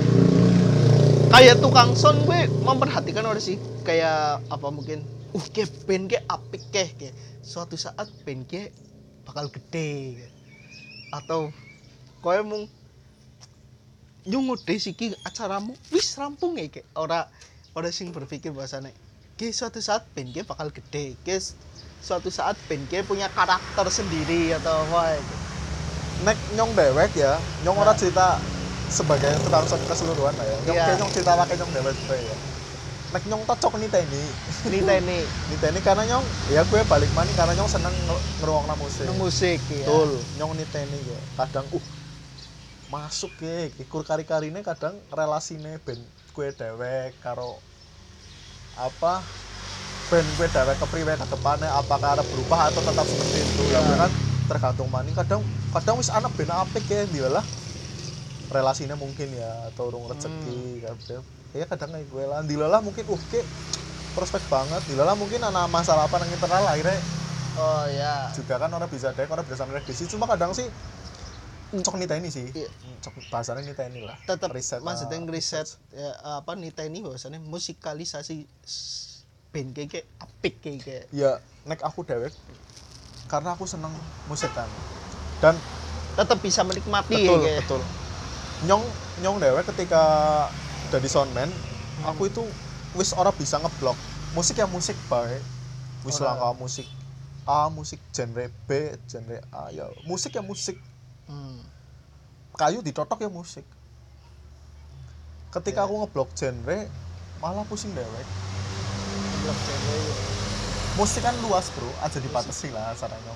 kayak tukang sound gue memperhatikan oleh sih kayak apa mungkin uh ke band ke apik ke ke suatu saat band ke bakal gede ke. Atau kowe mung nyungude siki acaramu wis rampung ya ke ora ora sing berpikir bahasane ke suatu saat band ke bakal gede ke suatu saat band ke punya karakter sendiri atau apa gitu. nek nyong dewek ya, nyong ora Nah. cerita sebagai tukang sound keseluruhan lah ya. Nyong Iya. kayak nyong cerita pakai nyong dewek bre ya. Nek nyong cocok nih teni. Niteni Nih teni karena nyong ya gue balik maning karena nyong seneng ngeruangna musik. nang musik ya. Betul, nyong niteni ya. Kadang uh masuk ya, ikur kari-karine kadang relasine band gue dewek karo apa band gue dewek kepriwe ke depannya, apakah ada berubah atau tetap seperti itu. Ya, gue kan tergantung maning kadang kadang wis anak band apik ya dilalah relasinya mungkin ya atau urung rezeki kabeh. Ya kadang kayak gue lah dilalah mungkin uh ke prospek banget, dilalah mungkin anak masalah apa nang internal akhirnya Oh ya. juga kan orang bisa dek, orang bisa prediksi. Cuma kadang sih cok niteni sih, Iya. cok bahasanya niteni lah. Tetap riset, maksudnya ah, ngeriset ya, apa niteni bahwasannya musikalisasi s- band kayak apik kayak Ya nek aku dewek karena aku seneng musik kan, dan tetap bisa menikmati betul kayak. betul nyong nyong dewek ketika jadi soundman, aku itu wis ora bisa ngeblok musik ya musik baik, wis Ora. langka musik A, musik genre B, genre A, ya musik ya musik, Hmm. kayu ditotok ya musik. Ketika Ya. aku ngeblok genre malah pusing dewek. Blok cewek. Musik kan luas bro, aja dibatasi lah caranya.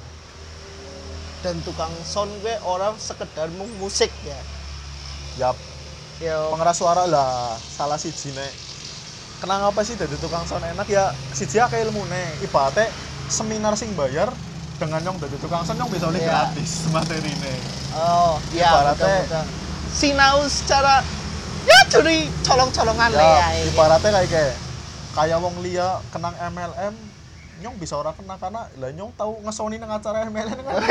Dan tukang sound gue orang sekedar mung musik ya. Yap, Ya pengeras suara lah salah siji nek. Kenapa sih dari tukang sound enak ya siji akeh ilmune. Ibaratnya seminar sing bayar dengan nyong dari tukang sound nyong bisa oleh Iya. gratis materine. oh ya Ibaratnya- betul-betul. Sinau secara ya curi colong-colongan lah ya. Ya, ibaratnya kayak kayak kayak wong liya kenang M L M nyong bisa ora kena karena lah nyong tahu ngesoni nang acara M L M kan.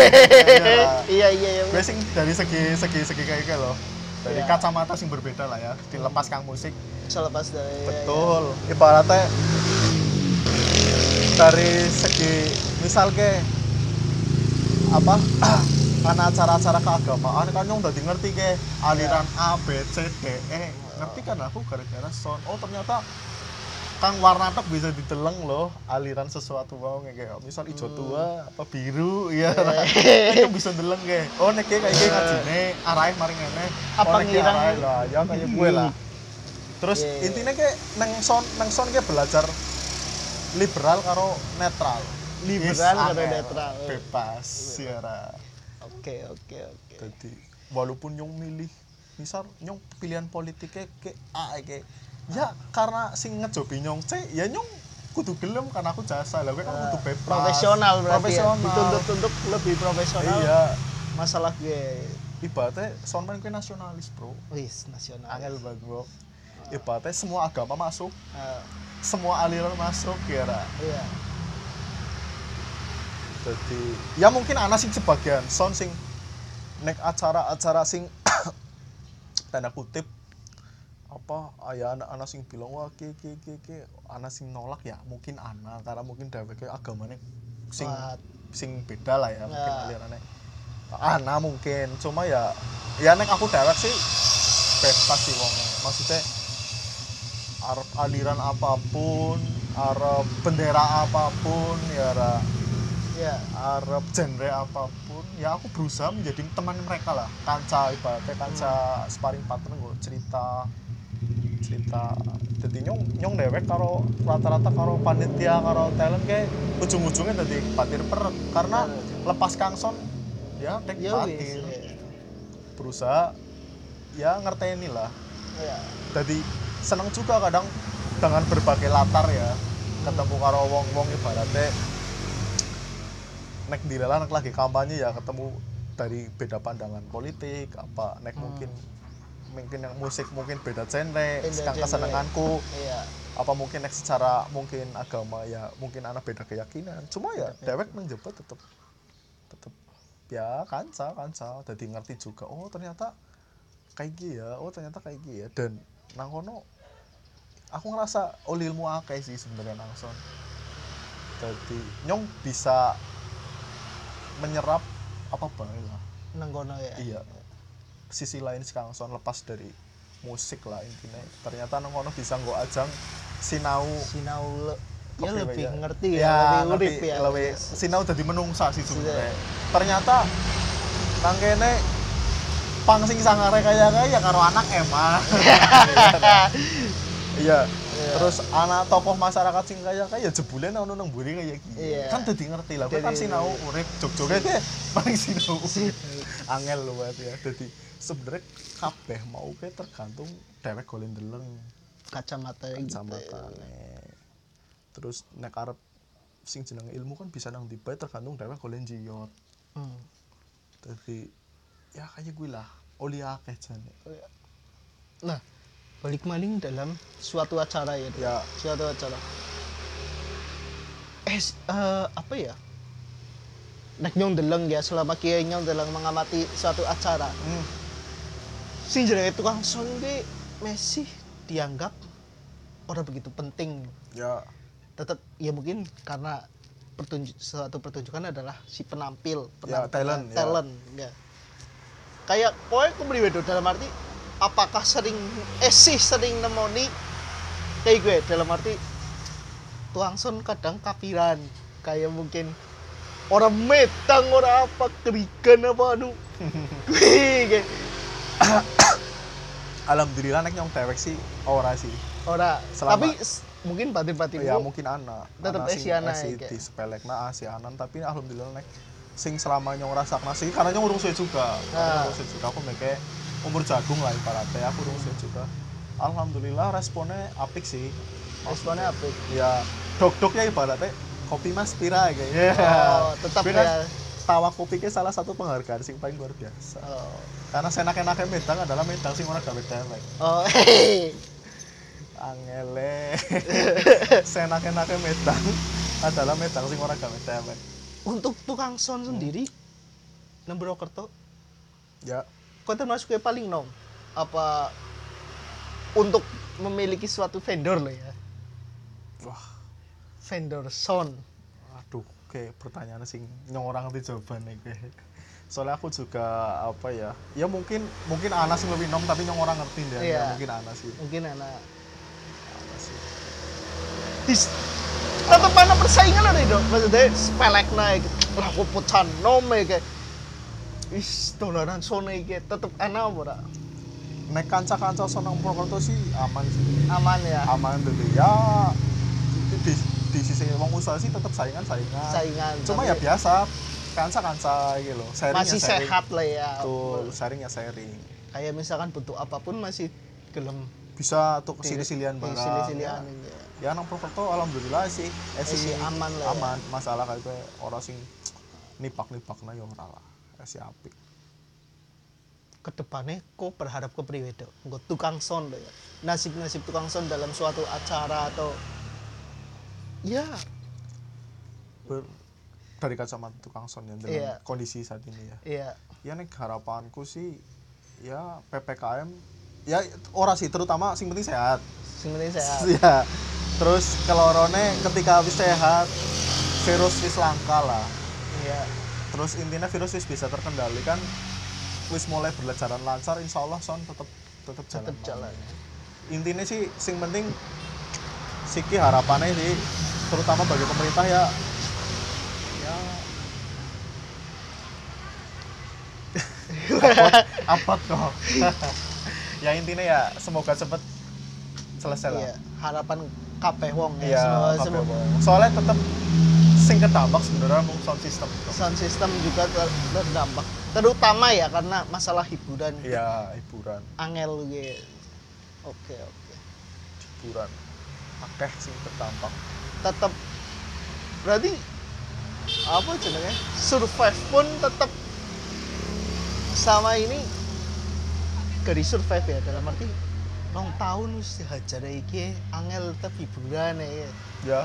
Iya iya iya. Gue sing dari segi segi segi kayak gitu loh, dari Iya. kacamata sing berbeda lah ya, dilepas kang musik. Selepas dari Betul, ibaratnya dari segi misal ke apa karena acara-acara keagamaan kan nyong udah ngerti ke aliran A B C D E, ngerti kan aku gara-gara sound. Oh ternyata kang warna tok bisa diteleng loh aliran sesuatu wow kayak misal hijau tua apa biru ya itu bisa deleng kayak oh nek kayak kayak ngajine arahe maring ngene Apa oh, nek ngirang- arahe lah ya kayak gue lah. Terus Iya, iya. intinya kayak nang sound nang sound kayak belajar liberal karo netral. Liberal Yes, karo angel. netral. Bebas ya ra. Oke oke oke. Jadi walaupun nyong milih misal nyong pilihan politiknya kayak A kayak ya karena sing ngejobi nyong C ya nyong kudu gelem karena aku jasa lah gue kan kudu bebas Profesional berarti profesional ya. Dituntut-tuntut lebih profesional. iya Masalah gue ibaratnya soundman gue nasionalis bro, wis nasional. angel banget bro. Ibaratnya semua agama masuk, Ah, semua aliran masuk ya ra. iya. Jadi ya mungkin ana sing sebagian sound sing nek acara-acara sing tanda kutip apa aya anak-anak sing bilang wah ki ki ki ki anak sing nolak ya mungkin ana karena mungkin dheweke agamane sing Kuat. sing beda lah ya mungkin Ya. alirannya ana mungkin cuma ya ya nek aku dewek sih bebas sih wong maksudnya arep aliran apapun arep bendera apapun ya ra Ya. arep genre apapun ya aku berusaha menjadi teman mereka lah, kanca ibaratnya kanca Hmm. sparring partner gue cerita cerita jadi nyong nyong dewek karo rata-rata karo panitia karo talent kayak ujung-ujungnya jadi batir per karena lepas kangson ya dek Ya wis. batir Ya. berusaha ya ngerteni lah. Ya. Jadi seneng juga kadang dengan berbagai latar ya ketemu karo wong-wong ibaratnya nek dilalah nek lagi kampanye ya ketemu dari beda pandangan politik apa nek Hmm. mungkin mungkin yang musik mungkin beda genre Beda sekarang genre. kesenanganku Iya. apa mungkin nek secara mungkin agama ya mungkin anak beda keyakinan cuma ya Beda dewek menjemput tetep tetep ya kanca kanca jadi ngerti juga oh ternyata kayak gini ya oh ternyata kayak gini ya dan nang kono aku ngerasa oh ilmu akeh sih sebenarnya nangson jadi nyong bisa menyerap apa bae lah Nang kono ya. iya sisi lain si Kangson lepas dari musik lah intinya ternyata nang kono bisa nggo ajang sinau Sinau le- ya Oke, lebih ya. ngerti ya, ya lebih urip ngerti, ya. lebih sinau dadi menungsa sih sebenarnya Iya. ternyata nang kene pang sing sangare kaya kaya karo anak Emma iya Iya. terus anak tokoh masyarakat sing kaya kaya jebule ono nang mburi kaya iki Iya. kan dadi ngerti lah kowe kan Jadi- sinau urip jog-joge ke paling sinau Si- angel lho Mas ya dadi sebenarnya kabeh mau ke tergantung dhewek golek ndeleng kacamata gitu. kacamatane terus nek arep sing jenenge ilmu kan bisa nang ndi bae tergantung dhewek golek njiyot Hmm. dadi ya kayak gue lah oli akeh jane Nah, balik maling dalam suatu acara ya. Dok. ya Suatu acara. Eh, s- eh, apa ya? Nek nyong deleng ya selama kia nyong deleng mengamati suatu acara. hmm, Sing jenenge tukang sound ki masih dianggap ora begitu penting. ya Tetap ya mungkin karena pertunjuk suatu pertunjukan adalah si penampil, Ya, penampilan, talent, ya. talent, ya. Kayak kowe kepriwe Do? Dalam arti apakah sering eh sih sering nemoni kayak gue dalam arti tukang sound kadang kapiran kayak mungkin orang metang orang apa kerigan apa anu Wih, kayak alhamdulillah nek nyong dewek sih ora sih ora Selama- tapi s- mungkin batin-batin ya mungkin anak Tetep anak esi sing anak esi ya, kayak. di sepelekna asi anan tapi alhamdulillah nek sing selama nyong rasakna sih karena nyong urung suwe juga karena Ah. urung suwe juga aku meke umur jagung lah ibaratnya aku urung suwe juga alhamdulillah responnya apik sih responnya apa ya dok-dok ya ibaratnya kopi mas pira kayak ya Oh, tetap Gue kan ya. tawa kopi ke salah satu penghargaan sing paling luar biasa oh karena senak-enaknya medang adalah medang sing ora gawe dewek oh hehehe. angele senak-enaknya medang adalah medang sing ora gawe dewek Untuk tukang sound sendiri nang Purwokerto ya kau termasuk yang paling nom apa untuk memiliki suatu vendor lah ya wah vendor sound aduh kayak pertanyaan sing nyong orang ngerti jawabannya kayak soalnya aku juga apa ya ya mungkin mungkin Ana sing lebih nom tapi nyong orang ngerti deh Iya. ya, mungkin Ana sih mungkin anak Ana sih dis tetep mana persaingan ada dong maksudnya spelek naik lah aku pecan nom ya kayak is dolanan sound kayak tetep anak apa ora? nek kanca-kanca sonang Purwokerto sih aman sih Aman ya aman deh ya di, di, di sisi wong usaha sih tetap saingan saingan saingan cuma tapi ya biasa kanca kanca gitu loh sharing masih ya sharing. sehat lah ya Betul, sharing ya sharing kayak misalkan butuh apapun masih gelem bisa tuh silih-silihan barang silih-silihan ya, ya nang Purwokerto alhamdulillah sih eh, Eh, sih aman lah ya. aman masalah kayak gue orang sing nipak-nipak na ya ora lah eh, si apik kedepannya kok berharap ke priwe Dok? Nggo tukang sound loh ya nasib-nasib tukang sound dalam suatu acara atau ya Ber, dari kacamata tukang sound yang dengan Iya. kondisi saat ini ya ya ya nek harapanku sih ya P P K M ya ora sih terutama sing penting sehat sing penting sehat ya terus kelorone ketika habis sehat virus wis langka lah ya terus intinya virus wis bisa terkendali kan wis mulai berjalan lancar insya Allah son tetep tetep jalan tetap jalan intinya sih sing penting siki harapannya sih terutama bagi pemerintah ya ya apot kok. Ya intinya ya semoga cepet selesai lah. Iya, harapan kabeh wong ya. Iya, Semoga- kabeh semoga- wong. Soalnya tetep sing kedampak sebenarnya mung sound system. sound system juga ter- terdampak. Terutama ya karena masalah hiburan. Iya, hiburan, Angel gitu. Oke, oke. hiburan. Akeh sing terdampak. Tetap berarti apa jenenge? Survive pun tetap sama ini dari survive ya dalam arti rong tahun wis dihajar iki angel tetap hiburan ya. Ya.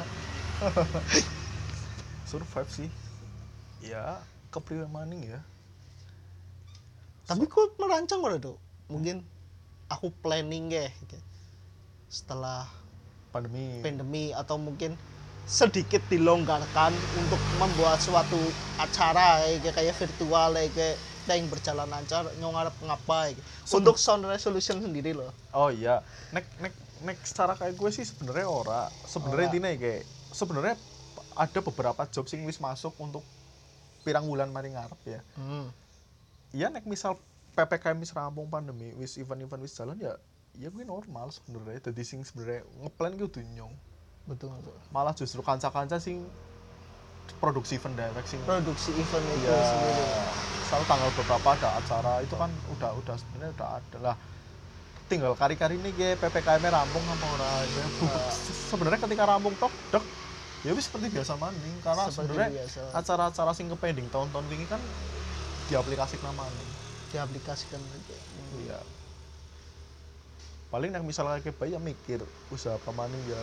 Survive sih. Ya, kepriwe maning ya. Tapi kok merancang ora tuh? Mungkin aku planning ya gitu. Setelah Pandemi. pandemi atau mungkin sedikit dilonggarkan untuk membuat suatu acara kayak kayak virtual kayak yang berjalan lancar nyong arep ngapa gitu. Sebe- Untuk sound resolution sendiri loh. Oh iya, nek nek nek secara kayak gue sih sebenarnya ora. Sebenarnya Ora. intinya kayak sebenarnya ada beberapa job sing wis masuk untuk pirang bulan mari ngarep ya. Hmm. Iya nek misal P P K M wis rampung pandemi, wis event-event wis jalan ya ya gue normal sebenarnya. Dadi sing sebenarnya ngeplan ki kudu nyong. Betul betul. Malah justru kanca-kanca sing produksi event direct sing Produksi event itu ya sendiri. selalu tanggal beberapa ada acara itu kan udah udah sebenarnya udah ada lah. Tinggal kari-kari ini ge P P K M rampung apa ora ya. Ah. Sebenarnya ketika rampung tok dek ya wis seperti biasa maning karena Seperti sebenarnya biasa. acara-acara sing kepending tahun-tahun ini kan diaplikasikan maning. Diaplikasikan gitu. Iya. Paling yang misalnya kayak bayi ya mikir usaha apa maning ya.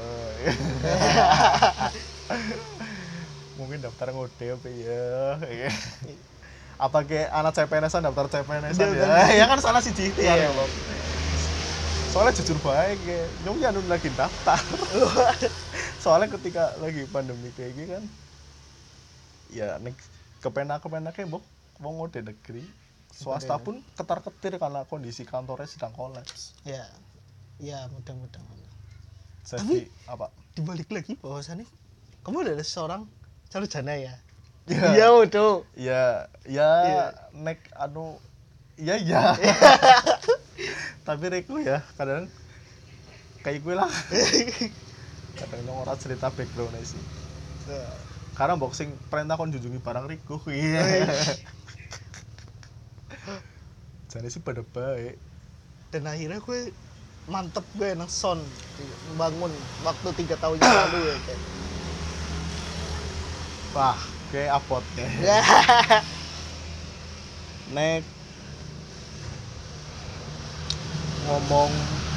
Mungkin daftar ngode apa ya. Apa kayak anak C P N S-an daftar C P N S-an ya. Ya kan salah sih G T ya. Iya. Soalnya jujur baik ya, nyong ya nun lagi daftar. Soalnya ketika lagi pandemi kayak gini kan, ya nek kepenak-kepenaknya mbok wong ngode negeri, swasta pun ketar-ketir karena kondisi kantornya sedang kolaps. Ya. Ya, mudah-mudahan. Jadi apa? Dibalik lagi bahwasannya kamu adalah seorang sarjana ya. Ya. Iya, betul. Ya, ya Iya. nek anu ya ya. Tapi reku ya kadang kayak gue lah. Kadang nyong ora cerita background sih. Karena boxing perintah kon junjungi barang riku. Iya. Jadi sih pada baik. Dan akhirnya gue mantep gue nang sound bangun waktu tiga tahun yang lalu ya kayak. Wah, kayak apot kayak. Nek ngomong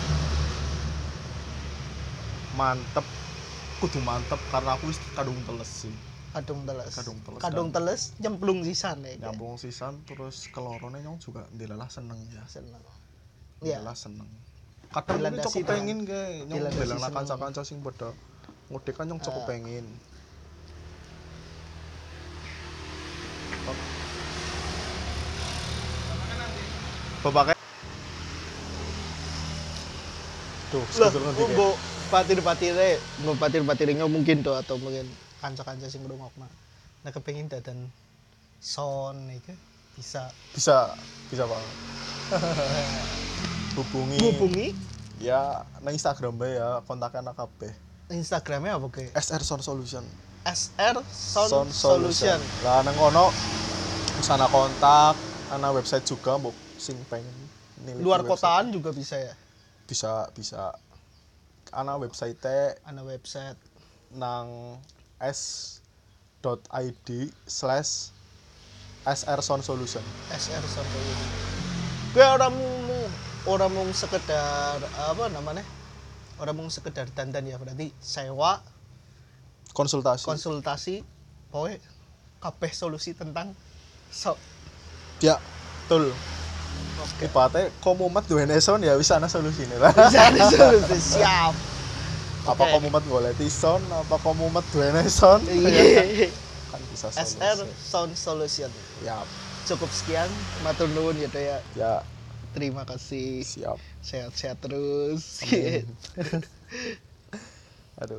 mantep kudu mantep karena aku wis kadung teles sih. Kadung teles. Kadung teles Kadung dan- teles nyemplung sisan ya. kayak. Nyambung sisan terus kelorone nyong juga ndilalah seneng ya. Seneng. Iya. Ndilalah seneng. Kadang ini Dilandasi cukup pengen kayak nyong dilandasi bilang seneng. kanca-kanca sing padha ngudek kan nyong cukup Ah. pengen. Bapaknya tuh, Lah, sebetulnya nanti kayak- mbok batir-batire, mbok batir-batirnya mungkin tuh atau mungkin kanca-kanca sing ngrungokna. Nah kepengin dadan sound iki bisa bisa bisa banget. Hubungi hubungi ya nang Instagram bae ya kontaknya anak kabeh. Instagramnya apa ke? S R Sound Solution. S R Sound, Solution. Lah nang kono sana kontak, ana website juga mbok sing pengen niliki Luar website. kotaan juga bisa ya. Bisa bisa ana website Ana website nang s.id slash sr sound solution. S R Sound Solution. Gue orang mau orang mau sekedar apa namanya? Orang mau sekedar dandan ya berarti sewa Konsultasi. konsultasi pokoknya kabeh solusi tentang so Ya, betul. oke Ibaratnya komumat duwe sound ya wis ana solusine lah. bisa ada solusi siap Apa Oke. komumat golek sound, apa komumat duwe sound. iya Kan bisa S R solusi. Sound Solution Ya, cukup sekian matur nuwun gitu ya ya terima kasih siap. sehat-sehat terus Amin.